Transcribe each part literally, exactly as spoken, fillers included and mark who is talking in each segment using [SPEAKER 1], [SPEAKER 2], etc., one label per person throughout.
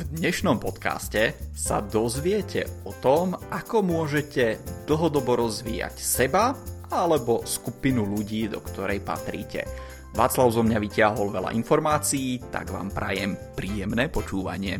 [SPEAKER 1] dnešnom podcaste sa dozviete o tom, ako môžete dlhodobo rozvíjať seba alebo skupinu ľudí, do ktorej patríte. Václav zo mňa vyťahol veľa informácií, tak vám prajem príjemné počúvanie.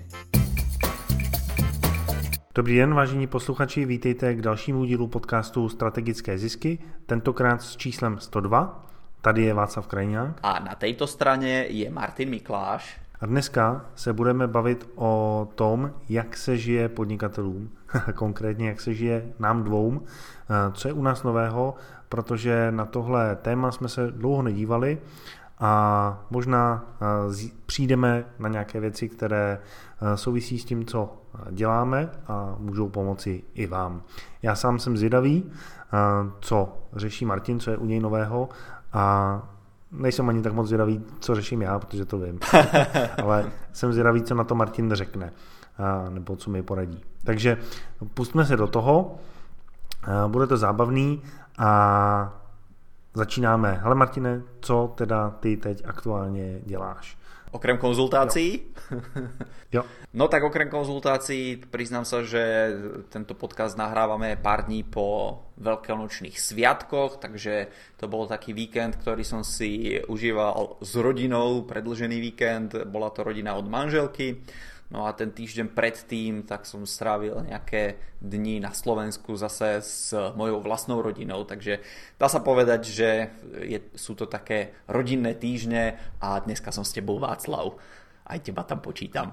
[SPEAKER 2] Dobrý den, vážení posluchači, vítejte k dalšímu dílu podcastu Strategické zisky, tentokrát s číslem sto dva. Tady je Václav Krajňák.
[SPEAKER 1] A na tejto strane je Martin Mikláš.
[SPEAKER 2] A dneska se budeme bavit o tom, jak se žije podnikatelům, konkrétně jak se žije nám dvou, co je u nás nového, protože na tohle téma jsme se dlouho nedívali a možná přijdeme na nějaké věci, které souvisí s tím, co děláme a můžou pomoci i vám. Já sám jsem zvědavý, co řeší Martin, co je u něj nového, a nejsem ani tak moc zvědavý, co řeším já, protože to vím. Ale jsem zvědavý, co na to Martin řekne, nebo co mi poradí. Takže pustíme se do toho, bude to zábavný a začínáme. Hele Martine, co teda ty teď aktuálně děláš?
[SPEAKER 1] Okrem konzultácií?
[SPEAKER 2] Jo. jo.
[SPEAKER 1] No tak okrem konzultácií priznám sa, že tento podcast nahrávame pár dní po veľkonočných sviatkoch, takže to bol taký víkend, ktorý som si užíval s rodinou, predĺžený víkend, bola to rodina od manželky. No a ten týždeň predtým tak som strávil nejaké dni na Slovensku zase s mojou vlastnou rodinou, takže dá sa povedať, že je, sú to také rodinné týždne a dneska som s tebou, Václav. Aj teba tam počítam.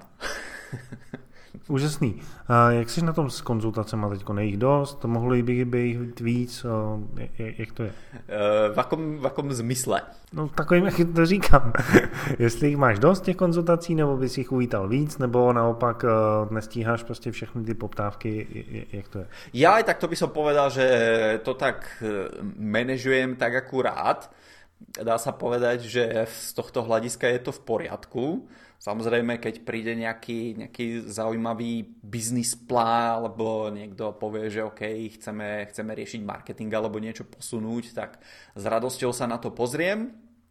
[SPEAKER 2] Úžasný. A jak jsi na tom s konzultacemi teďko? Nejich dost? Mohlo by být víc? Jak to je?
[SPEAKER 1] V akom, v akom zmysle?
[SPEAKER 2] No takovým, jak to říkám. Jestli jich máš dost těch konzultací, nebo bys jich uvítal víc, nebo naopak nestíháš prostě všechny ty poptávky, jak to je?
[SPEAKER 1] Ja aj tak to by som povedal, že to tak manažujem tak akurát. Dá sa povedať, že z tohto hľadiska je to v poriadku. Samozrejme, keď príde nejaký, nejaký zaujímavý biznis plán, alebo niekto povie, že OK, chceme, chceme riešiť marketing alebo niečo posunúť, tak s radosťou sa na to pozriem.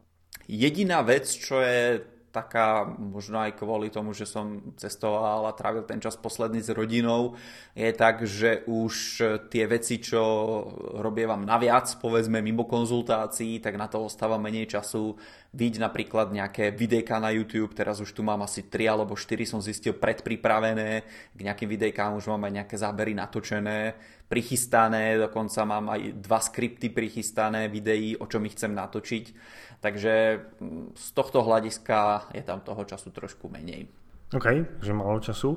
[SPEAKER 1] Jediná vec, čo je taká, možno aj kvôli tomu, že som cestoval a trávil ten čas posledný s rodinou, je tak, že už tie veci, čo robievam naviac, povedzme mimo konzultácií, tak na to ostáva menej času. Vidieť napríklad nejaké videjka na YouTube, teraz už tu mám asi tri alebo štyri, som zistil predpripravené, k nejakým videjkám už mám aj nejaké zábery natočené, prichystané, dokonca mám aj dva skripty prichystané videí, o čom ich chcem natočiť. Takže z tohto hľadiska je tam toho času trošku menej.
[SPEAKER 2] OK, že málo času.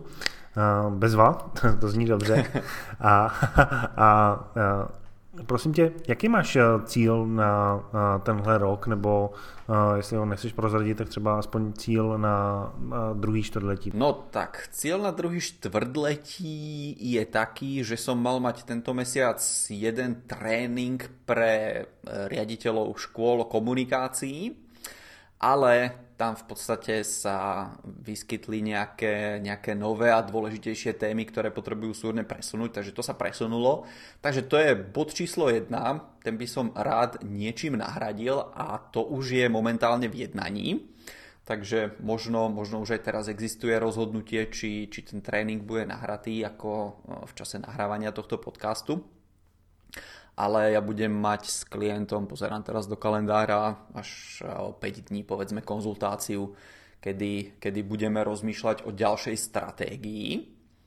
[SPEAKER 2] Bezva, to zní dobře. A, a, a prosím tě, jaký máš cíl na tenhle rok, nebo jestli ho nechceš prozradit, tak třeba aspoň cíl na, na druhý čtvrtletí?
[SPEAKER 1] No tak, cieľ na druhý štvrtletí je taký, že som mal mať tento mesiac jeden tréning pre riaditeľov škôl komunikácií, ale tam v podstate sa vyskytli nejaké, nejaké nové a dôležitejšie témy, ktoré potrebujú súrne presunúť, takže to sa presunulo. Takže to je bod číslo jedna, ten by som rád niečím nahradil a to už je momentálne v jednaní. Takže možno, možno už aj teraz existuje rozhodnutie, či, či ten tréning bude nahratý ako v čase nahrávania tohto podcastu. Ale ja budem mať s klientom, pozerám teraz do kalendára, až o päť dní povedzme konzultáciu, kedy, kedy budeme rozmýšľať o ďalšej stratégii.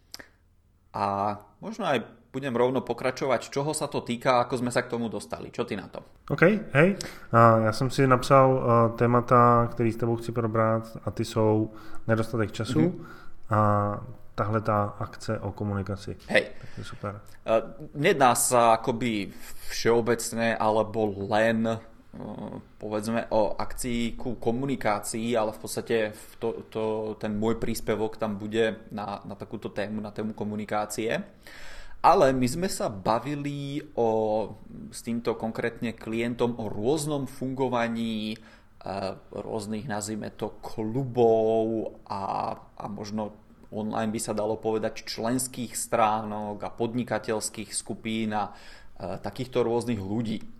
[SPEAKER 1] A možno aj budem rovno pokračovať, čoho sa to týka, ako sme sa k tomu dostali. Čo ty na to?
[SPEAKER 2] OK, hej. Já jsem si napsal témata, který s tebou chci probrat, a ty jsou nedostatek času mm-hmm. a tahle tá akce o komunikaci.
[SPEAKER 1] Hej.
[SPEAKER 2] Tak je super.
[SPEAKER 1] Nedá sa akoby všeobecne alebo len povedzme o akcii ku komunikácii, ale v podstate to, to, ten môj príspevok tam bude na, na takúto tému, na tému komunikácie. Ale my sme sa bavili o, s týmto konkrétne klientom o rôznom fungovaní rôznych, nazvime to, klubov a, a možno online by sa dalo povedať členských stránok a podnikateľských skupín a e, takýchto rôznych ľudí.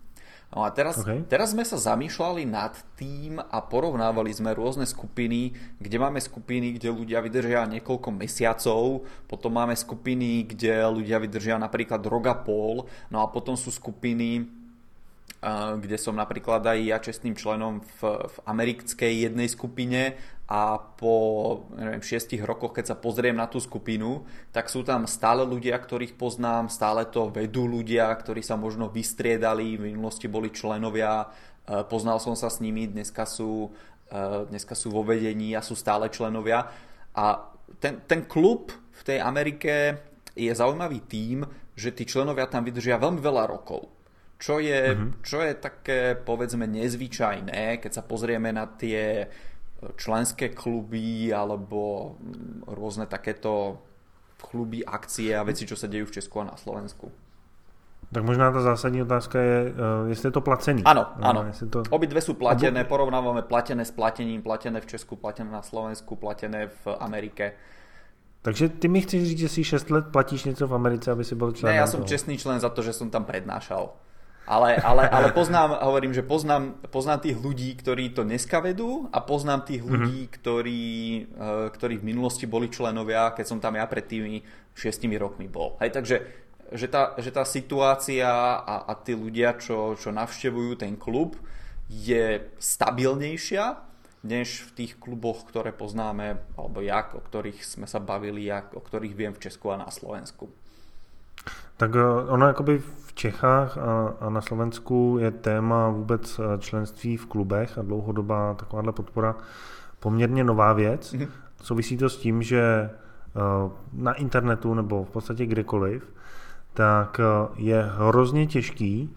[SPEAKER 1] No a teraz,
[SPEAKER 2] okay.
[SPEAKER 1] teraz sme sa zamýšľali nad tým a porovnávali sme rôzne skupiny, kde máme skupiny, kde ľudia vydržia niekoľko mesiacov, potom máme skupiny, kde ľudia vydržia napríklad rok a pol, no a potom sú skupiny, kde som napríklad aj ja čestným členom v, v americkej jednej skupine a po neviem, šiestich rokoch, keď sa pozriem na tú skupinu, tak sú tam stále ľudia, ktorých poznám, stále to vedú ľudia, ktorí sa možno vystriedali, v minulosti boli členovia, poznal som sa s nimi, dneska sú, dneska sú vo vedení a sú stále členovia. A ten, ten klub v tej Amerike je zaujímavý tým, že tí členovia tam vydržia veľmi veľa rokov. Čo je, mm-hmm. čo je také, povedzme, nezvyčajné, keď sa pozrieme na tie členské kluby alebo rôzne takéto kluby, akcie a veci, čo sa dejú v Česku a na Slovensku.
[SPEAKER 2] Tak možná ta zásadní otázka je, jestli je to placený.
[SPEAKER 1] Áno, áno.
[SPEAKER 2] To...
[SPEAKER 1] Obidve sú platené, porovnávame platené s platením, platené v Česku, platené na Slovensku, platené v Amerike.
[SPEAKER 2] Takže ty mi chceš říct, že si šest let platíš něco v Americe, aby si byl členem?
[SPEAKER 1] Ne, ja som toho. čestný člen za to, že som tam prednášal. Ale, ale, ale poznám, hovorím, že poznám, poznám tých ľudí, ktorí to dneska vedú a poznám tých ľudí, mm-hmm. ktorí, ktorí v minulosti boli členovia, keď som tam ja pred tými šiestimi rokmi bol. Hej, takže že tá, že tá situácia a, a tí ľudia, čo, čo navštevujú ten klub, je stabilnejšia, než v tých kluboch, ktoré poznáme, alebo jak, o ktorých sme sa bavili, jak, o ktorých viem v Česku a na Slovensku.
[SPEAKER 2] Tak ono jakoby v Čechách a, a na Slovensku je téma vůbec členství v klubech a dlouhodobá takováhle podpora poměrně nová věc. Mm-hmm. Souvisí to s tím, že na internetu nebo v podstatě kdekoliv, tak je hrozně těžký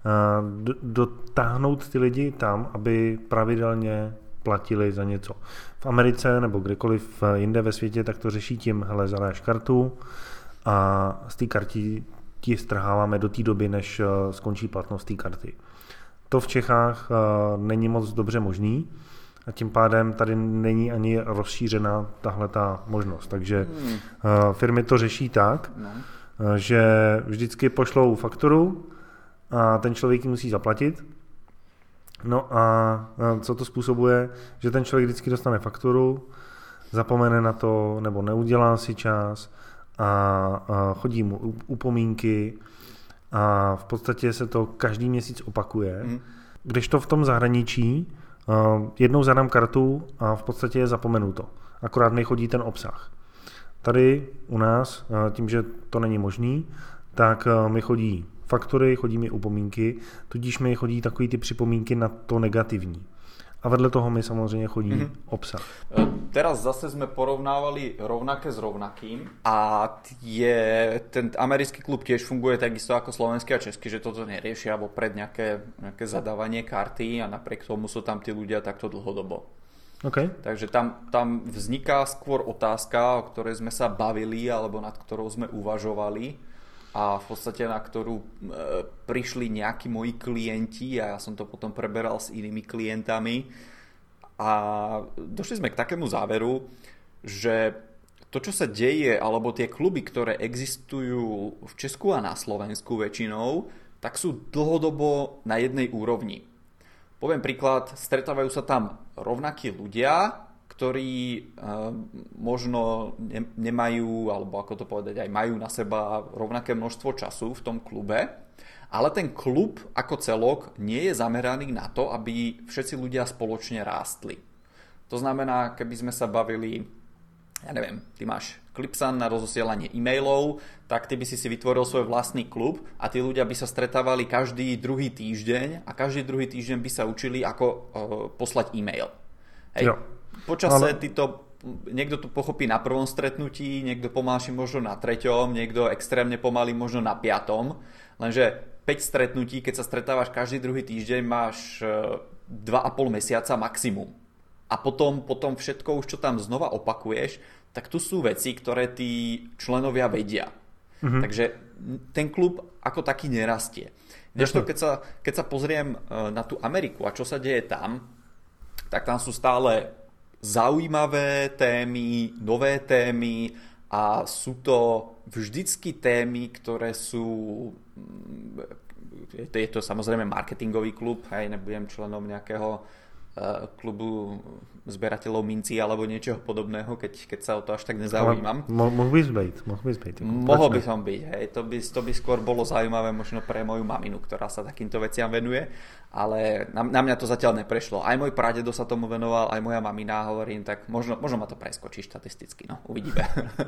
[SPEAKER 2] dotáhnout ty lidi tam, aby pravidelně platili za něco. V Americe nebo kdekoliv jinde ve světě, tak to řeší tím, hele, zadáš kartu a z té karty ti strháváme do té doby, než skončí platnost té karty. To v Čechách není moc dobře možný a tím pádem tady není ani rozšířená tahle ta možnost. Takže hmm. firmy to řeší tak, no. že vždycky pošlou fakturu a ten člověk ji musí zaplatit. No a co to způsobuje, že ten člověk vždycky dostane fakturu, zapomene na to nebo neudělá si čas a chodí mu upomínky a v podstatě se to každý měsíc opakuje. Mm. Kdežto v tom zahraničí jednou zadám kartu a v podstatě je zapomenuto. Akorát mi chodí ten obsah. Tady u nás, tím, že to není možný, tak mi chodí faktury, chodí mi upomínky, tudíž mi chodí takový ty připomínky na to negativní. A vedle toho mi samozřejmě chodí mm-hmm. obsah.
[SPEAKER 1] Teraz zase sme porovnávali rovnaké s rovnakým a je, ten americký klub tiež funguje takisto ako slovenský a český, že toto neriešia vopred nejaké, nejaké zadávanie karty a napriek tomu sú tam tí ľudia takto dlhodobo.
[SPEAKER 2] Okay.
[SPEAKER 1] Takže tam, tam vzniká skôr otázka, o ktorej sme sa bavili alebo nad ktorou sme uvažovali a v podstate na ktorú e, prišli nejakí moji klienti a ja som to potom preberal s inými klientami a došli sme k takému záveru, že to, čo sa deje, alebo tie kluby, ktoré existujú v Česku a na Slovensku väčšinou, tak sú dlhodobo na jednej úrovni. Poviem príklad, stretávajú sa tam rovnakí ľudia, ktorí e, možno ne, nemajú, alebo ako to povedať, aj majú na seba rovnaké množstvo času v tom klube, ale ten klub ako celok nie je zameraný na to, aby všetci ľudia spoločne rástli. To znamená, keby sme sa bavili, ja neviem, ty máš Clipsan na rozosielanie e-mailov, tak ty by si si vytvoril svoj vlastný klub a tí ľudia by sa stretávali každý druhý týždeň a každý druhý týždeň by sa učili, ako e, poslať e-mail. Hej. Jo. Počase ale... ty to, niekto to pochopí na prvom stretnutí, niekto pomalší možno na treťom, niekto extrémne pomalý možno na piatom, lenže päť stretnutí, keď sa stretávaš každý druhý týždeň, máš dva a pol mesiaca maximum. A potom, potom všetko už, čo tam znova opakuješ, tak tu sú veci, ktoré tí členovia vedia. Mhm. Takže ten klub ako taký nerastie. Kdežto, keď sa, keď sa pozriem na tú Ameriku a čo sa deje tam, tak tam sú stále zaujímavé témy, nové témy a sú to vždycky témy, ktoré sú, je to, je to samozrejme marketingový klub, hej, nebudem členom nejakého klubu zberateľov mincí alebo niečoho podobného, keď, keď sa o to až tak nezaujímam.
[SPEAKER 2] Mo, mohl bys byť. Mohl bys byť.
[SPEAKER 1] Mohol by som byť. Hej. To, by, to by skôr bolo zaujímavé možno pre moju maminu, ktorá sa takýmto veciam venuje, ale na, na mňa to zatiaľ neprešlo. Aj môj pradedo sa tomu venoval, aj moja mamina, hovorím, tak možno, možno ma to preskočí štatisticky, no uvidíme.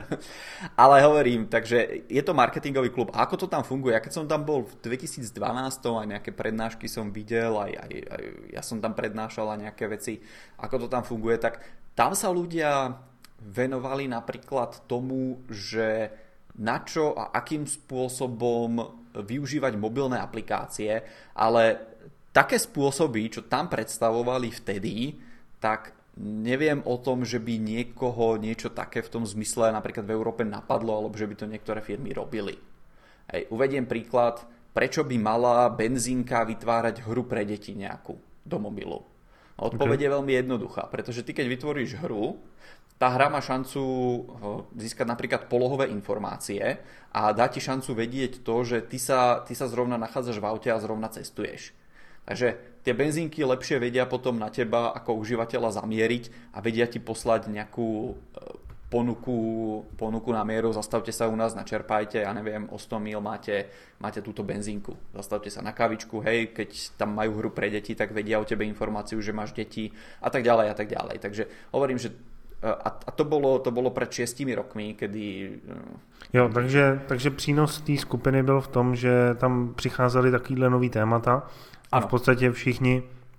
[SPEAKER 1] Ale hovorím, takže je to marketingový klub. A ako to tam funguje? Ja keď som tam bol v dvetisícdvanásť, aj nejaké prednášky som videl, aj, aj, aj ja som tam prednášal nejaké veci, ako to tam funguje, tak tam sa ľudia venovali napríklad tomu, že na čo a akým spôsobom využívať mobilné aplikácie, ale také spôsoby, čo tam predstavovali vtedy, tak neviem o tom, že by niekoho niečo také v tom zmysle napríklad v Európe napadlo, alebo že by to niektoré firmy robili. Hej, uvediem príklad, prečo by mala benzínka vytvárať hru pre deti nejakú do mobilu. Odpoveď okay. je veľmi jednoduchá, pretože ty keď vytvoríš hru, tá hra má šancu získať napríklad polohové informácie a dá ti šancu vedieť to, že ty sa, ty sa zrovna nachádzaš v aute a zrovna cestuješ. Takže tie benzínky lepšie vedia potom na teba ako užívateľa zamieriť a vedia ti poslať nejakú ponuku, ponuku na mieru, zastavte sa u nás, načerpajte, ja neviem, o sto míl máte, máte túto benzínku, zastavte sa na kavičku, hej, keď tam majú hru pre deti, tak vedia o tebe informáciu, že máš deti a tak ďalej a tak ďalej. Takže hovorím, že a, a to bolo, to bolo pred šiestimi rokmi, kedy...
[SPEAKER 2] Jo, takže, takže přínos té skupiny byl v tom, že tam přicházely takovýhle nový témata a v podstatě všichni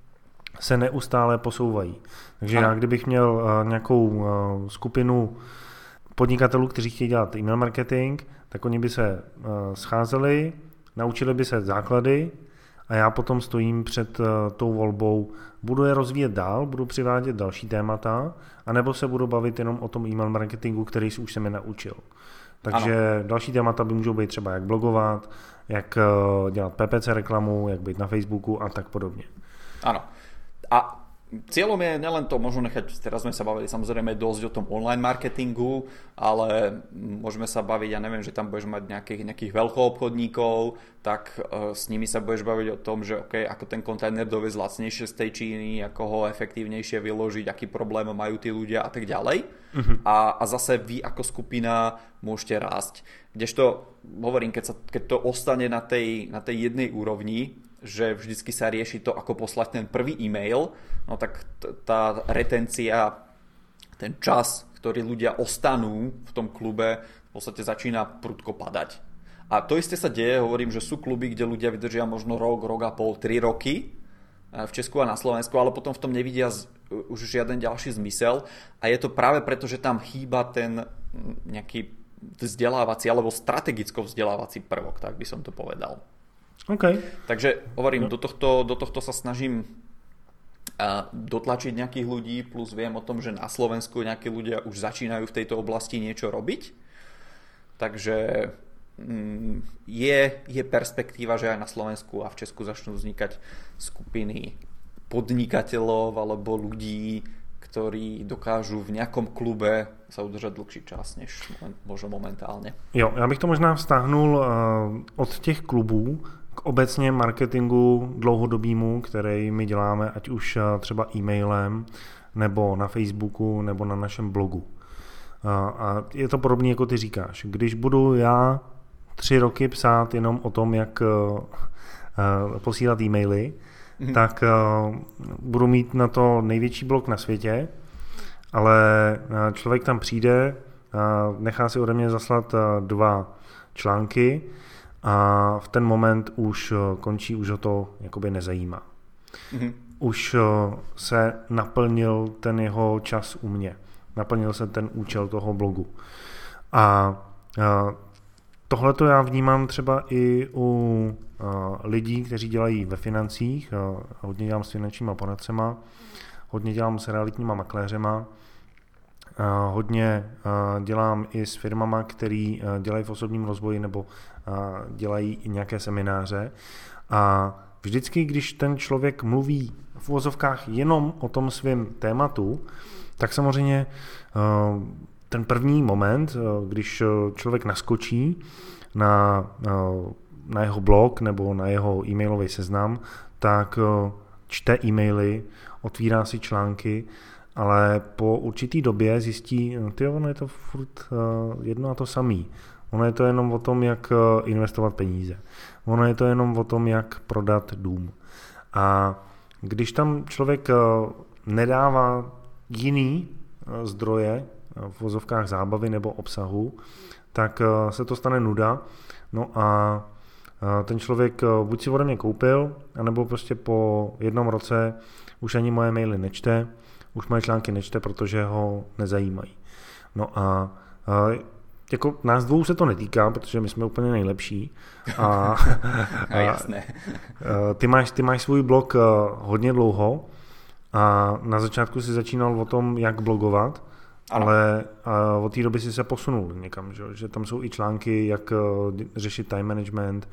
[SPEAKER 2] se neustále posouvají. Takže ano. Já kdybych měl uh, nějakou uh, skupinu podnikatelů, kteří chtějí dělat email marketing, tak oni by se uh, scházeli, naučili by se základy a já potom stojím před uh, tou volbou, budu je rozvíjet dál, budu přivádět další témata, anebo se budu bavit jenom o tom email marketingu, který už jsem je naučil. Takže ano. Další témata by můžou být třeba jak blogovat, jak uh, dělat P P C reklamu, jak být na Facebooku a tak podobně.
[SPEAKER 1] Ano. A cieľom je nielen to, možno nechať, teraz sme sa bavili samozrejme dosť o tom online marketingu, ale môžeme sa baviť, ja neviem, že tam budeš mať nejakých, nejakých veľkoobchodníkov, tak uh, s nimi sa budeš baviť o tom, že okay, ako ten kontajner doviezť lacnejšie z tej Číny, ako ho efektívnejšie vyložiť, aký problém majú tí ľudia a tak ďalej. Uh-huh. A, a zase vy ako skupina môžete rásť. Kdežto, hovorím, keď, sa, keď to ostane na tej, na tej jednej úrovni, že vždycky sa rieši to, ako poslať ten prvý e-mail, no tak t- tá retencia, ten čas, ktorý ľudia ostanú v tom klube, v podstate začína prudko padať. A to isté sa deje, hovorím, že sú kluby, kde ľudia vydržia možno rok, rok a pol, tri roky v Česku a na Slovensku, ale potom v tom nevidia z, už žiaden ďalší zmysel a je to práve preto, že tam chýba ten nejaký vzdelávací alebo strategicko vzdelávací prvok, tak by som to povedal.
[SPEAKER 2] Okay.
[SPEAKER 1] Takže hovorím, do tohto, do tohto sa snažím uh, dotlačiť nejakých ľudí, plus viem o tom, že na Slovensku nejakí ľudia už začínajú v tejto oblasti niečo robiť. Takže um, je, je perspektíva, že aj na Slovensku a v Česku začnú vznikať skupiny podnikateľov alebo ľudí, ktorí dokážu v nejakom klube sa udržať dlhší čas, než možno momentálne.
[SPEAKER 2] Jo, já bych to možná vztáhnul uh, od těch klubů k obecně marketingu dlouhodobýmu, který my děláme, ať už třeba e-mailem, nebo na Facebooku, nebo na našem blogu. A je to podobné, jako ty říkáš. Když budu já tři roky psát jenom o tom, jak posílat e-maily, mm-hmm. tak budu mít na to největší blog na světě, ale člověk tam přijde, nechá si ode mě zaslat dva články, a v ten moment už končí, už ho to jakoby nezajímá. Mm-hmm. Už se naplnil ten jeho čas u mě. Naplnil se ten účel toho blogu. A tohle to já vnímám třeba i u lidí, kteří dělají ve financích. Hodně dělám s finančníma poradcema, hodně dělám s realitníma makléřema, hodně dělám i s firmama, který dělají v osobním rozvoji nebo dělají i nějaké semináře. A vždycky, když ten člověk mluví v uvozovkách jenom o tom svém tématu, tak samozřejmě ten první moment, když člověk naskočí na na jeho blog nebo na jeho e-mailový seznam, tak čte e-maily, otvírá si články, ale po určitý době zjistí, ty ono je to furt jedno a to samý. Ono je to jenom o tom, jak investovat peníze. Ono je to jenom o tom, jak prodat dům. A když tam člověk nedává jiný zdroje v vozovkách zábavy nebo obsahu, tak se to stane nuda. No a ten člověk buď si ode mě koupil, anebo prostě po jednom roce už ani moje maily nečte, už moje články nečte, protože ho nezajímají. No a jako nás dvou se to netýká, protože my jsme úplně nejlepší. A,
[SPEAKER 1] a jasné.
[SPEAKER 2] Ty máš, ty máš svůj blog hodně dlouho a na začátku si začínal o tom, jak blogovat, ano. Ale od té doby si se posunul někam, že, že tam jsou i články, jak řešit time management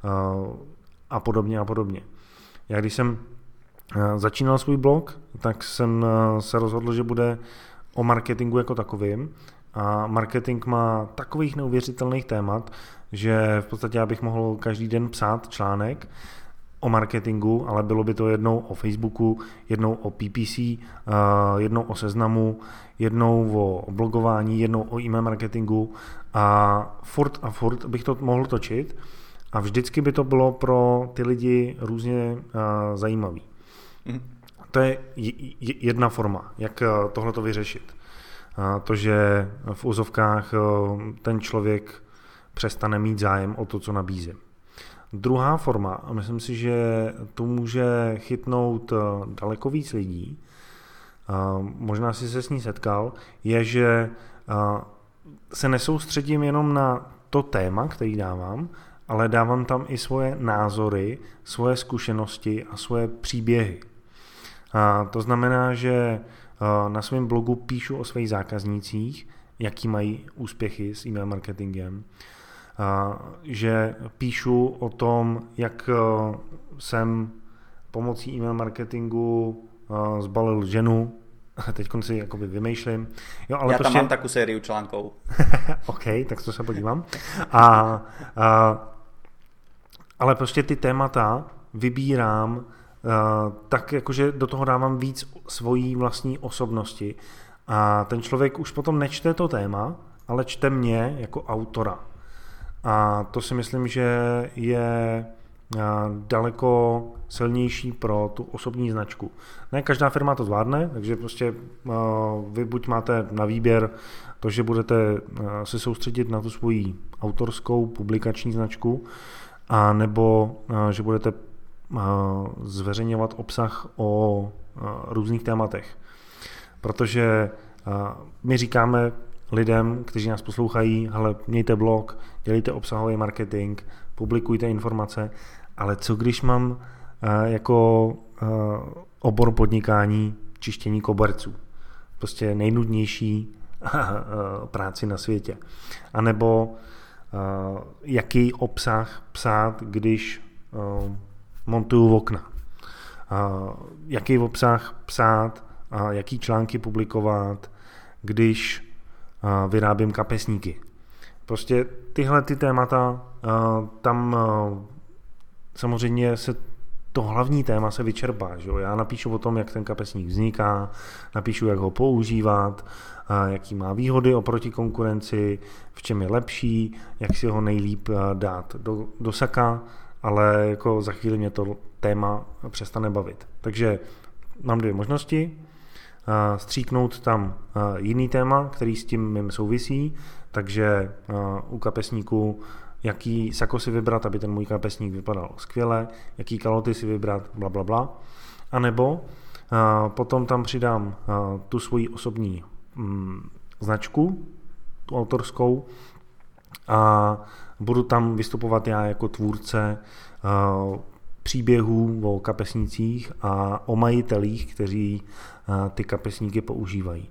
[SPEAKER 2] a podobně a podobně. Já když jsem začínal svůj blog, tak jsem se rozhodl, že bude o marketingu jako takovým. A marketing má takových neuvěřitelných témat, že v podstatě já bych mohl každý den psát článek o marketingu, ale bylo by to jednou o Facebooku, jednou o P P C, jednou o seznamu, jednou o blogování, jednou o e-mail marketingu a furt a furt bych to mohl točit a vždycky by to bylo pro ty lidi různě zajímavý. Mm. To je jedna forma, jak tohleto vyřešit. To, že v úzovkách ten člověk přestane mít zájem o to, co nabízím. Druhá forma, a myslím si, že tu může chytnout daleko víc lidí, možná si se s ní setkal, je, že se nesoustředím jenom na to téma, který dávám, ale dávám tam i svoje názory, svoje zkušenosti a svoje příběhy. A to znamená, že na svém blogu píšu o svých zákaznících, jaký mají úspěchy s e-mail marketingem, že píšu o tom, jak jsem pomocí e-mail marketingu zbalil ženu, teď si jakoby vymýšlím. Jo, ale
[SPEAKER 1] Já
[SPEAKER 2] prostě...
[SPEAKER 1] tam mám takovou sériu článků.
[SPEAKER 2] OK, tak to se podívám. A, a, ale prostě ty témata vybírám Uh, tak jakože do toho dávám víc svojí vlastní osobnosti a ten člověk už potom nečte to téma, ale čte mě jako autora. A to si myslím, že je uh, daleko silnější pro tu osobní značku. Ne každá firma to zvládne, takže prostě uh, vy buď máte na výběr to, že budete uh, se soustředit na tu svoji autorskou publikační značku, a nebo uh, že budete zveřejňovat obsah o různých tématech. Protože my říkáme lidem, kteří nás poslouchají, hele, mějte blog, dělejte obsahový marketing, publikujte informace, ale co když mám jako obor podnikání čištění koberců? Prostě nejnudnější práci na světě. A nebo jaký obsah psát, když montuju okna. Uh, jaký obsah psát, uh, jaký články publikovat, když uh, vyrábím kapesníky. Prostě tyhle ty témata, uh, tam uh, samozřejmě se to hlavní téma se vyčerpá. Že? Já napíšu o tom, jak ten kapesník vzniká, napíšu, jak ho používat, uh, jaký má výhody oproti konkurenci, v čem je lepší, jak si ho nejlíp uh, dát do, do saka, ale jako za chvíli mě to téma přestane bavit. Takže mám dvě možnosti. Stříknout tam jiný téma, který s tím mým souvisí, takže u kapesníku jaký sako si vybrat, aby ten můj kapesník vypadal skvěle, jaký kaloty si vybrat, bla, bla, bla. A nebo potom tam přidám tu svoji osobní značku, tu autorskou, a budu tam vystupovat já jako tvůrce uh, příběhů o kapesnících a o majitelích, kteří uh, ty kapesníky používají.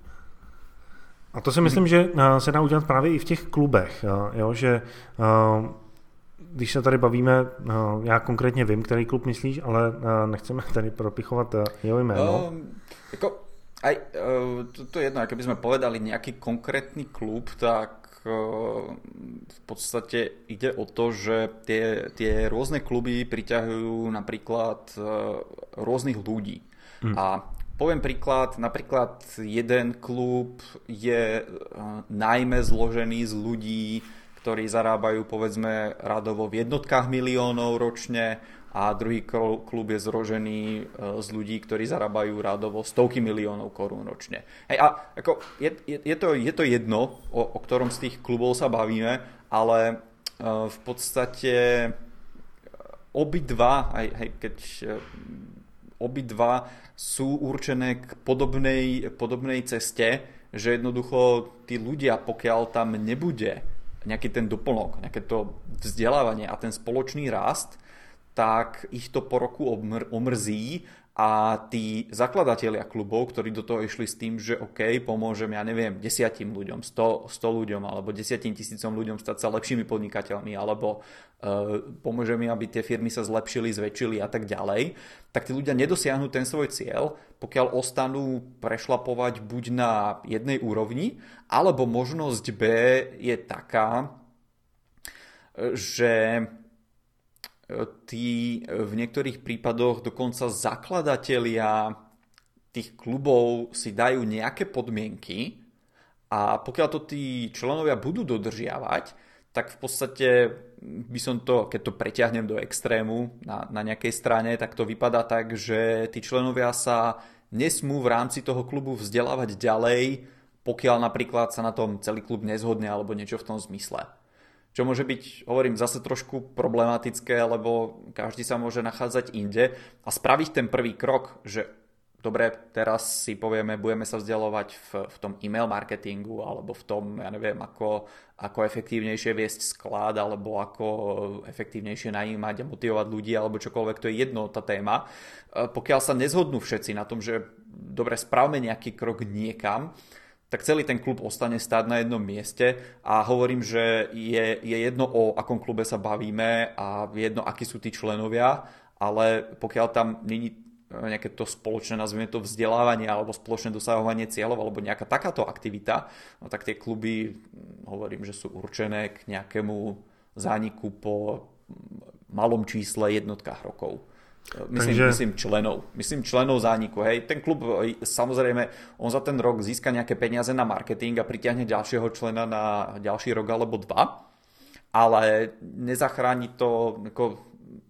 [SPEAKER 2] A to si myslím, že uh, se dá udělat právě i v těch klubech, uh, jo, že uh, když se tady bavíme, uh, já konkrétně vím, který klub myslíš, ale uh, nechceme tady propichovat uh, jeho jméno.
[SPEAKER 1] Um, jako Aj to, to je jedno, keby sme povedali nejaký konkrétny klub, tak v podstate ide o to, že tie, tie rôzne kluby priťahujú napríklad rôznych ľudí. Hmm. A poviem príklad, napríklad jeden klub je najmä zložený z ľudí, ktorí zarábajú povedzme radovo v jednotkách miliónov ročne, a druhý klub je zložený z ľudí, ktorí zarábajú radovo stovky miliónov korún ročne. Hej, a ako je, je, je, to, je to jedno, o, o ktorom z tých klubov sa bavíme, ale v podstate obidva, aj, hej, keď obidva sú určené k podobnej, podobnej ceste, že jednoducho tí ľudia, pokiaľ tam nebude nejaký ten doplnok, nejaké to vzdelávanie a ten spoločný rast, tak ich to po roku omr- omrzí a tí zakladatelia klubov, ktorí do toho išli s tým, že OK, pomôžem, ja neviem, desiatim ľuďom, sto, sto ľuďom alebo desiatim tisícom ľuďom stať sa lepšími podnikateľmi alebo uh, pomôžem im, aby tie firmy sa zlepšili, zväčšili a tak ďalej, tak tí ľudia nedosiahnu ten svoj cieľ, pokiaľ ostanú prešlapovať buď na jednej úrovni, alebo možnosť B je taká, že tí v niektorých prípadoch dokonca zakladatelia tých klubov si dajú nejaké podmienky a pokiaľ to tí členovia budú dodržiavať, tak v podstate by som to, keď to preťahnem do extrému na, na nejakej strane, tak to vypadá tak, že tí členovia sa nesmú v rámci toho klubu vzdelávať ďalej, pokiaľ napríklad sa na tom celý klub nezhodne alebo niečo v tom zmysle. Čo môže byť, hovorím, zase trošku problematické, lebo každý sa môže nachádzať inde a spraviť ten prvý krok, že dobre, teraz si povieme, budeme sa vzdelovať v, v tom e-mail marketingu alebo v tom, ja neviem, ako, ako efektívnejšie viesť sklad alebo ako efektívnejšie najímať a motivovať ľudí alebo čokoľvek, to je jedno tá téma. Pokiaľ sa nezhodnú všetci na tom, že dobre, spravme nejaký krok niekam, tak celý ten klub ostane stáť na jednom mieste a hovorím, že je, je jedno, o akom klube sa bavíme a jedno, akí sú tí členovia, ale pokiaľ tam není nejaké to spoločné, nazvime to vzdelávanie alebo spoločné dosahovanie cieľov alebo nejaká takáto aktivita, no tak tie kluby, hovorím, že sú určené k nejakému zániku po malom čísle jednotkách rokov. Myslím, Takže... myslím členov. Myslím členov zániku. Hej. Ten klub, samozrejme, on za ten rok získa nejaké peniaze na marketing a pritiahne ďalšieho člena na ďalší rok alebo dva, ale nezachráni to ako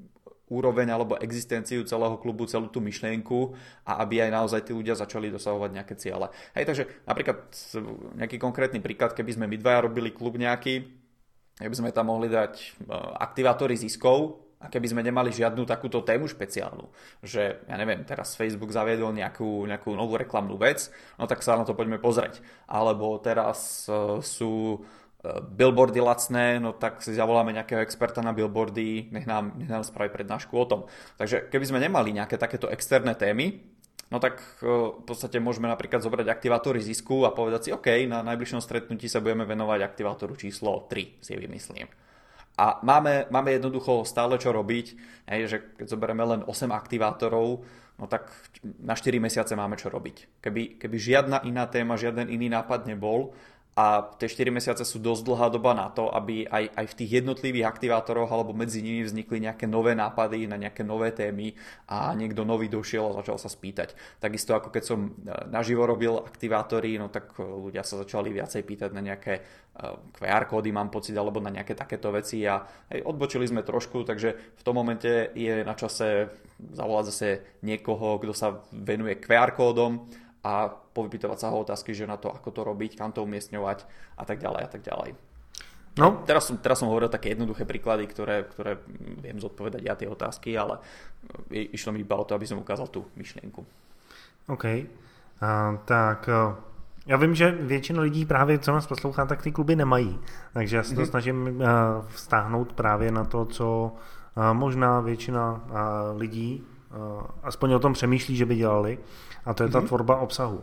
[SPEAKER 1] úroveň alebo existenciu celého klubu, celú tú myšlienku a aby aj naozaj tí ľudia začali dosahovať nejaké ciele. Hej, takže napríklad nejaký konkrétny príklad, keby sme my dvaja robili klub nejaký, keby sme tam mohli dať aktivátory ziskov, a keby sme nemali žiadnu takúto tému špeciálnu, že ja neviem, teraz Facebook zaviedol nejakú, nejakú novú reklamnú vec, no tak sa na to poďme pozrieť. Alebo teraz uh, sú uh, billboardy lacné, no tak si zavoláme nejakého experta na billboardy, nech nám, nech nám spraví prednášku o tom. Takže keby sme nemali nejaké takéto externé témy, no tak uh, v podstate môžeme napríklad zobrať aktivátory zisku a povedať si, OK, na najbližšom stretnutí sa budeme venovať aktivátoru číslo tri, si vymyslím. A máme, máme jednoducho stále čo robiť, hej, že keď zoberieme len osem aktivátorov, no tak na štyri mesiace máme čo robiť. Keby, keby žiadna iná téma, žiaden iný nápad nebol a tie štyri mesiace sú dosť dlhá doba na to, aby aj, aj v tých jednotlivých aktivátoroch alebo medzi nimi vznikli nejaké nové nápady na nejaké nové témy a niekto nový došiel a začal sa spýtať. Takisto ako keď som naživo robil aktivátory, no tak ľudia sa začali viacej pýtať na nejaké kú ár kódy, mám pocit, alebo na nejaké takéto veci a hej, odbočili sme trošku, takže v tom momente je na čase zavolať zase niekoho, kto sa venuje kú ár kódom a povypytovať sa ho otázky, že na to, ako to robiť, kam to umiestňovať a tak ďalej a tak ďalej. No. Teraz som, teraz som hovoril také jednoduché príklady, ktoré, ktoré viem zodpovedať ja tie otázky, ale išlo mi iba o to, aby som ukázal tú myšlienku. OK,
[SPEAKER 2] uh, tak uh, já vím, že většina lidí právě, co nás poslouchá, tak ty kluby nemají, takže já se to mm-hmm. snažím uh, vztáhnout právě na to, co uh, možná většina uh, lidí uh, aspoň o tom přemýšlí, že by dělali, a to je ta mm-hmm. tvorba obsahu.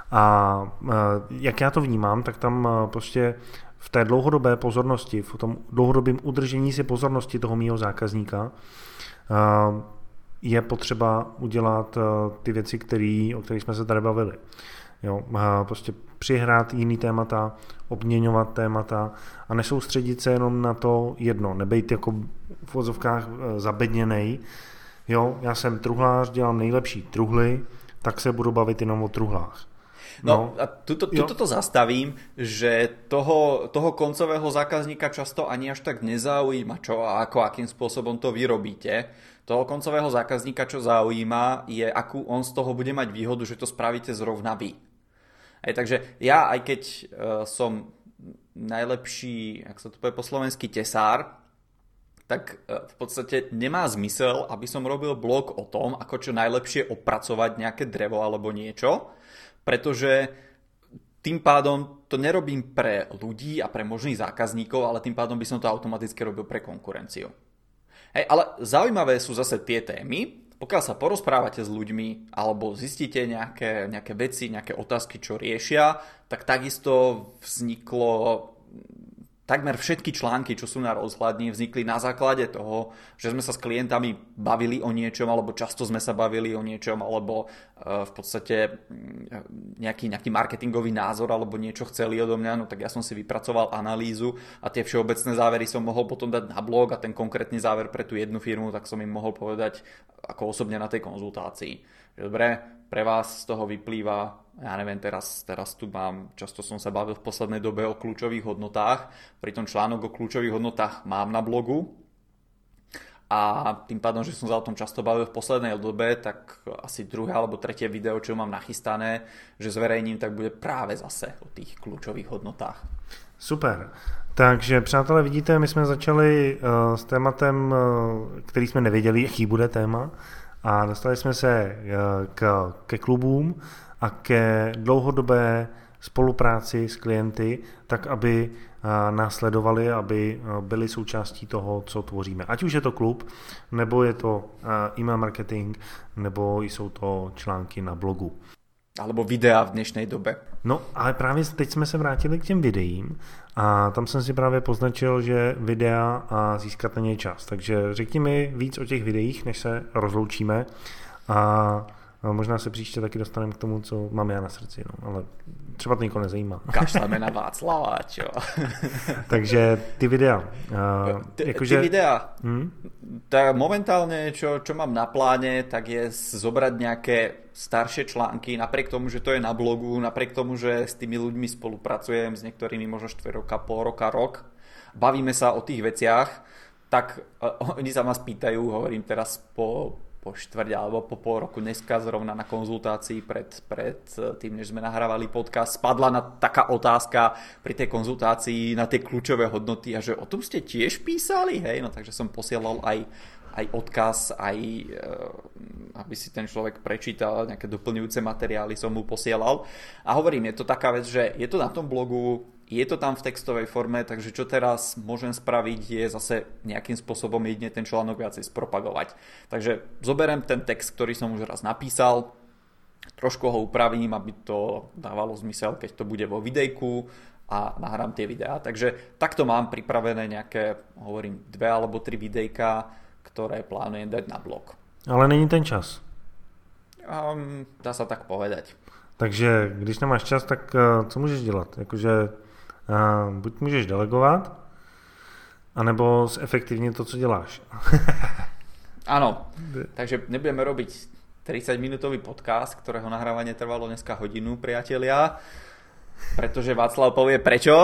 [SPEAKER 2] A jak já to vnímám, tak tam prostě v té dlouhodobé pozornosti, v tom dlouhodobém udržení si pozornosti toho mýho zákazníka je potřeba udělat ty věci, který, o kterých jsme se tady bavili. Jo, prostě přihrát jiný témata, obměňovat témata a nesoustředit se jenom na to jedno, nebejt jako v vozovkách zabedněnej. Jo, já jsem truhlář, dělám nejlepší truhly, tak se budu bavit jenom o truhlách.
[SPEAKER 1] No, no a tuto, tuto to zastavím, že toho, toho koncového zákazníka často ani až tak nezaujíma, čo a ako, akým spôsobom to vyrobíte. Toho koncového zákazníka, čo zaujíma, je, akú on z toho bude mať výhodu, že to spravíte zrovna vy. Aj, takže ja, aj keď uh, som najlepší, jak sa to povie po slovensky, tesár, tak uh, v podstate nemá zmysel, aby som robil blog o tom, ako čo najlepšie opracovať nejaké drevo alebo niečo, pretože tým pádom to nerobím pre ľudí a pre možných zákazníkov, ale tým pádom by som to automaticky robil pre konkurenciu. Hej, ale zaujímavé sú zase tie témy, pokiaľ sa porozprávate s ľuďmi alebo zistíte nejaké, nejaké veci, nejaké otázky, čo riešia, tak takisto vzniklo takmer všetky články, čo sú na rozhľadni, vznikli na základe toho, že sme sa s klientami bavili o niečom, alebo často sme sa bavili o niečom, alebo v podstate nejaký, nejaký marketingový názor, alebo niečo chceli odo mňa, no tak ja som si vypracoval analýzu a tie všeobecné závery som mohol potom dať na blog a ten konkrétny záver pre tú jednu firmu, tak som im mohol povedať ako osobne na tej konzultácii. Dobre, pre vás z toho vyplýva, ja neviem, teraz, teraz tu mám, často som sa bavil v poslednej dobe o kľúčových hodnotách, pritom článok o kľúčových hodnotách mám na blogu a tým pádom, že som sa o tom často bavil v poslednej dobe, tak asi druhé alebo tretie video, čo mám nachystané, že zverejním, tak bude práve zase o tých kľúčových hodnotách.
[SPEAKER 2] Super. Takže přátelé, vidíte, my jsme začali uh, s tématem, uh, který jsme nevěděli, jaký bude téma, a dostali jsme se k, ke klubům a ke dlouhodobé spolupráci s klienty, tak aby nás sledovali, aby byli součástí toho, co tvoříme. Ať už je to klub, nebo je to e-mail marketing, nebo jsou to články na blogu.
[SPEAKER 1] Alebo videa v dnešnej dobe.
[SPEAKER 2] No, ale právě teď jsme se vrátili k těm videím a tam jsem si právě poznačil, že videa a získat na ně čas. Takže řekni mi víc o těch videích, než se rozloučíme a možná se příště taky dostaneme k tomu, co mám já na srdci, no, ale třeba to nikoho nezajímá.
[SPEAKER 1] Kašleme na Václava, čo?
[SPEAKER 2] Takže ty videa. Uh,
[SPEAKER 1] ty,
[SPEAKER 2] jakože...
[SPEAKER 1] ty videa.
[SPEAKER 2] Hmm?
[SPEAKER 1] Tak momentálne, čo, čo mám na pláne, tak je zobrať nejaké staršie články, napriek tomu, že to je na blogu, napriek tomu, že s tými ľuďmi spolupracujem, s niektorými možno štyri roka, pol roka, rok. Bavíme sa o tých veciach, tak uh, oni sa ma spýtajú, hovorím teraz po... po štvrť alebo po pol roku dneska zrovna na konzultácii pred, pred tým, než sme nahrávali podcast, spadla na taká otázka pri tej konzultácii na tie kľúčové hodnoty a že o tom ste tiež písali, hej, no takže som posielal aj, aj odkaz, aj aby si ten človek prečítal, nejaké doplňujúce materiály som mu posielal a hovorím, je to taká vec, že je to na tom blogu, je to tam v textovej forme, takže čo teraz môžem spraviť je zase nejakým spôsobom jedine ten článok viacej spropagovať. Takže zoberiem ten text, ktorý som už raz napísal, trošku ho upravím, aby to dávalo zmysel, keď to bude vo videjku a nahrám tie videá. Takže takto mám pripravené nejaké, hovorím, dve alebo tri videjka, ktoré plánujem dať na blog.
[SPEAKER 2] Ale není ten čas.
[SPEAKER 1] Um, dá sa tak povedať.
[SPEAKER 2] Takže když nemáš čas, tak uh, co můžeš dělat? Jakože uh, buď můžeš delegovat, anebo zefektivnit to, co děláš.
[SPEAKER 1] Áno, takže nebudeme robiť tridsaťminútový podcast, ktorého nahrávanie trvalo dneska hodinu, priatelia, pretože Václav povie prečo.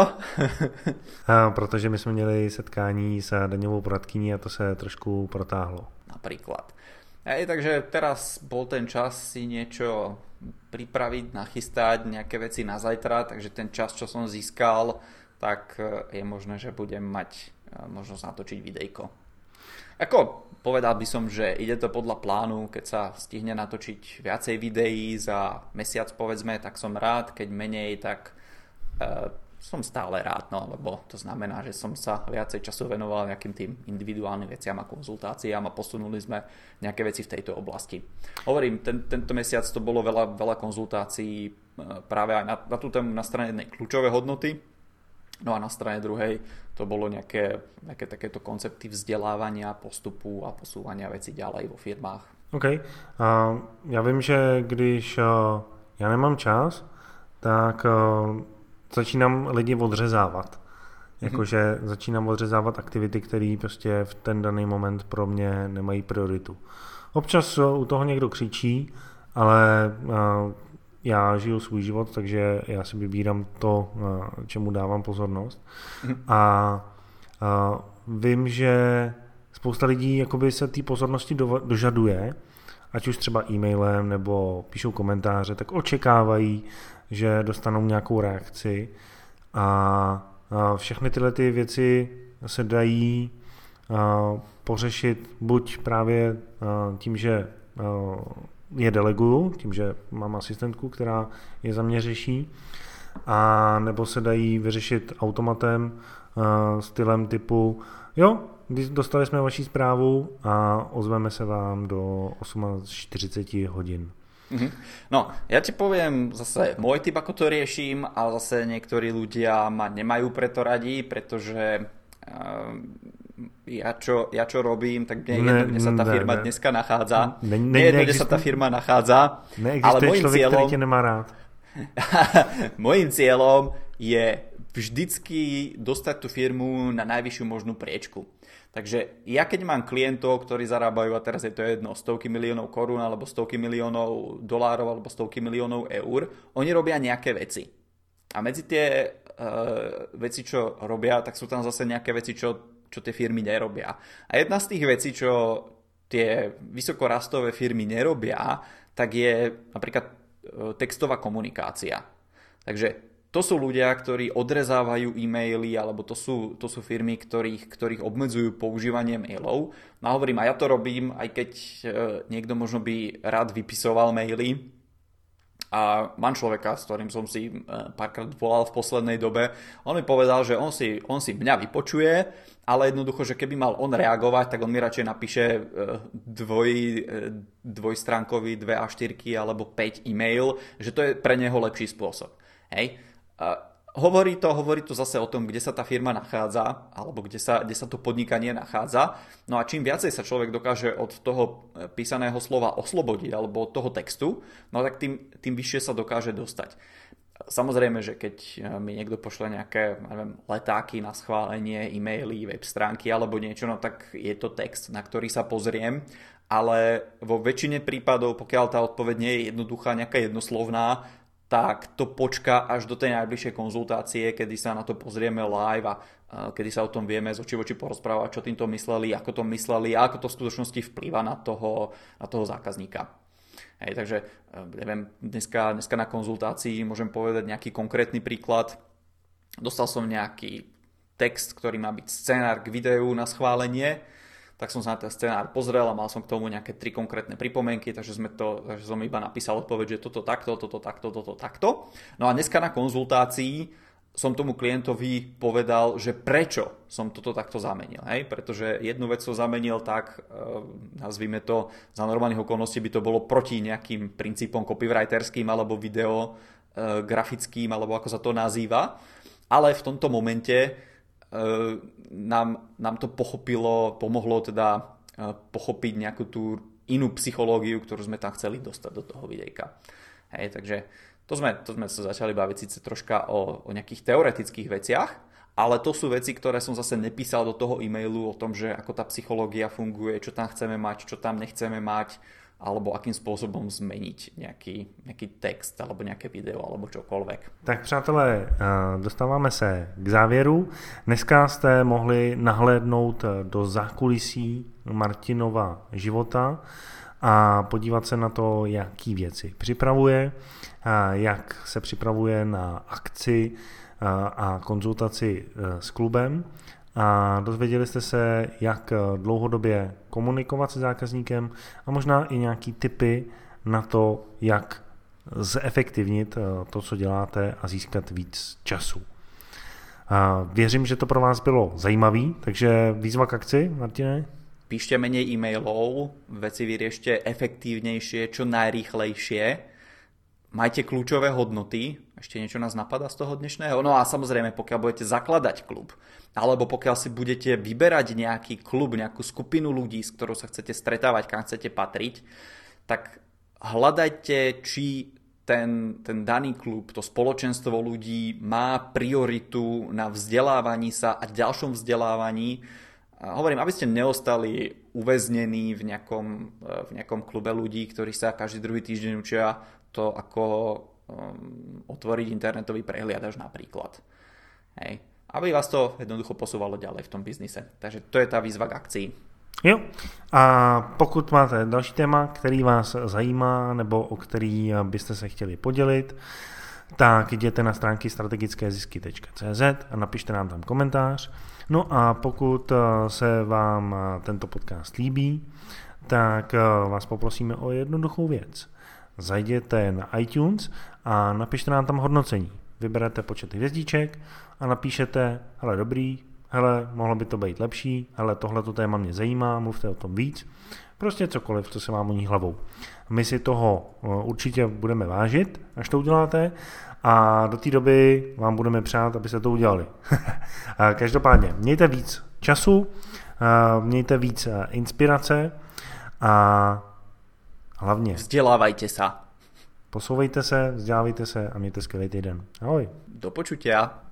[SPEAKER 2] uh, protože my jsme měli setkání s daňovou poradkyní a to se trošku protáhlo.
[SPEAKER 1] Napríklad. Hej, takže teraz bol ten čas si niečo pripraviť, nachystať, nejaké veci na zajtra, takže ten čas, čo som získal, tak je možné, že budem mať možnosť natočiť videjko. Ako povedal by som, že ide to podľa plánu, keď sa stihne natočiť viacej videí za mesiac, povedzme, tak som rád, keď menej, tak e, som stále rád, no, lebo to znamená, že som sa viacej času venoval nejakým tým individuálnym veciam a konzultáciám a posunuli sme nejaké veci v tejto oblasti. Hovorím, ten, tento mesiac to bolo veľa, veľa konzultácií práve aj na, na tú tému na strane jednej kľúčové hodnoty, no a na strane druhej to bolo nejaké, nejaké takéto koncepty vzdelávania, postupu a posúvania veci ďalej vo firmách.
[SPEAKER 2] OK. Uh, já vím, že když uh, já nemám čas, tak uh, začínám lidi odřezávat. Jakože mm-hmm. začínám odřezávat aktivity, které prostě v ten daný moment pro mě nemají prioritu. Občas u toho někdo křičí, ale uh, já žiju svůj život, takže já si vybírám to, uh, čemu dávám pozornost. Mm-hmm. A uh, vím, že spousta lidí jakoby se té pozornosti do, dožaduje, ať už třeba e-mailem nebo píšou komentáře, tak očekávají, že dostanou nějakou reakci a všechny tyhle ty věci se dají pořešit buď právě tím, že je deleguju, tím, že mám asistentku, která je za mě řeší, a nebo se dají vyřešit automatem stylem typu jo, dostali jsme vaši zprávu a ozveme se vám do čtyřicet osm hodín.
[SPEAKER 1] Mm-hmm. No, ja ti poviem zase môj typ, ako to riešim, a zase niektorí ľudia ma nemajú preto radi, pretože uh, ja, čo, ja čo robím, tak mne je jedno, kde sa tá firma ne, dneska nachádza. Ne, ne, nie jedno, kde sa tá firma nachádza.
[SPEAKER 2] Ale môjim človek, cieľom, ktorý ťa nemá rád.
[SPEAKER 1] Môjim cieľom je vždycky dostať tú firmu na najvyššiu možnú priečku. Takže ja keď mám klientov, ktorí zarábajú, a teraz je to jedno, stovky miliónov korún, alebo stovky miliónov dolárov, alebo stovky miliónov eur, oni robia nejaké veci. A medzi tie uh, veci, čo robia, tak sú tam zase nejaké veci, čo, čo tie firmy nerobia. A jedna z tých vecí, čo tie vysokorastové firmy nerobia, tak je napríklad uh, textová komunikácia. Takže to sú ľudia, ktorí odrezávajú e-maily, alebo to sú, to sú firmy, ktorých, ktorých obmedzujú používanie mailov. No a hovorím, a ja to robím, aj keď e, niekto možno by rád vypisoval maily. A mám človeka, s ktorým som si e, párkrát volal v poslednej dobe. On mi povedal, že on si, on si mňa vypočuje, ale jednoducho, že keby mal on reagovať, tak on mi radšej napíše e, dvoj, e, dvojstránkový, dve á štyri alebo päť e-mail, že to je pre neho lepší spôsob. Hej? Uh, hovorí to, hovorí to zase o tom, kde sa tá firma nachádza, alebo kde sa, kde sa to podnikanie nachádza. No a čím viacej sa človek dokáže od toho písaného slova oslobodiť, alebo od toho textu, no tak tým, tým vyššie sa dokáže dostať. Samozrejme, že keď mi niekto pošle nejaké, neviem, letáky na schválenie, e-maily, web stránky alebo niečo, no tak je to text, na ktorý sa pozriem, ale vo väčšine prípadov, pokiaľ tá odpoveď nie je jednoduchá, nejaká jednoslovná, tak to počká až do tej najbližšej konzultácie, kedy sa na to pozrieme live a kedy sa o tom vieme z očí v oči porozprávať, čo týmto mysleli, ako to mysleli a ako to v skutočnosti vplýva na toho, na toho zákazníka. Hej, takže neviem, dneska, dneska na konzultácii môžem povedať nejaký konkrétny príklad. Dostal som nejaký text, ktorý má byť scenár k videu na schválenie, tak som sa na ten scenár pozrel a mal som k tomu nejaké tri konkrétne pripomienky, takže, sme to, takže som iba napísal odpoveď, že toto takto, toto takto, toto takto. No a dneska na konzultácii som tomu klientovi povedal, že prečo som toto takto zamenil. Hej? Pretože jednu vec som zamenil tak, e, nazvime to, za normálnych okolností by to bolo proti nejakým princípom copywriterským alebo video e, grafickým, alebo ako sa to nazýva. Ale v tomto momente Nám, nám to pochopilo, pomohlo teda pochopiť nejakú tú inú psychológiu, ktorú sme tam chceli dostať do toho videjka. Hej, takže to sme, to sme sa začali baviť síce troška o, o nejakých teoretických veciach, ale to sú veci, ktoré som zase nepísal do toho e-mailu o tom, že ako tá psychológia funguje, čo tam chceme mať, čo tam nechceme mať, alebo akým způsobem změnit nějaký, nějaký text, alebo nějaké video, alebo čokoliv.
[SPEAKER 2] Tak přátelé, dostáváme se k závěru. Dneska jste mohli nahlédnout do zákulisí Martinova života a podívat se na to, jaký věci připravuje, jak se připravuje na akci a konzultaci s klubem. A dozvěděli jste se, jak dlouhodobě komunikovat se zákazníkem a možná i nějaký tipy na to, jak zefektivnit to, co děláte a získat víc času. A věřím, že to pro vás bylo zajímavý, takže výzva k akci, Martine?
[SPEAKER 1] Píšte menej e-mailov, veci vyriešte efektívnejšie, čo najrýchlejšie. majte kľúčové hodnoty, ešte niečo nás napadá z toho dnešného, no a samozrejme pokiaľ budete zakladať klub, alebo pokiaľ si budete vyberať nejaký klub, nejakú skupinu ľudí, s ktorou sa chcete stretávať, kam chcete patriť, tak hľadajte, či ten, ten daný klub, to spoločenstvo ľudí má prioritu na vzdelávaní sa a ďalšom vzdelávaní. A hovorím, aby ste neostali uväznení v nejakom, v nejakom klube ľudí, ktorí sa každý druhý týždeň učia to, ako um, otvoriť internetový prehliadač napríklad. Hej. Aby vás to jednoducho posúvalo ďalej v tom biznise. Takže to je tá výzva k akcii.
[SPEAKER 2] Jo, a pokud máte další téma, který vás zajímá nebo o který byste se chtěli podělit, tak jděte na stránky strategické zisky tečka cé zet a napište nám tam komentář. No a pokud se vám tento podcast líbí, tak vás poprosíme o jednoduchou věc. Zajděte na iTunes a napište nám tam hodnocení. Vyberete počet hvězdíček a napíšete, hele dobrý, hele, mohlo by to být lepší, hele, tohleto téma mě zajímá, mluvte o tom víc. Prostě cokoliv, co se vám honí hlavou. My si toho určitě budeme vážit, až to uděláte, a do té doby vám budeme přát, abyste to udělali. Každopádně, mějte víc času, mějte víc inspirace a hlavně
[SPEAKER 1] vzdělávajte se.
[SPEAKER 2] Posouvejte se, vzdělávejte se a mějte skvělý týden. Ahoj.
[SPEAKER 1] Do počutia.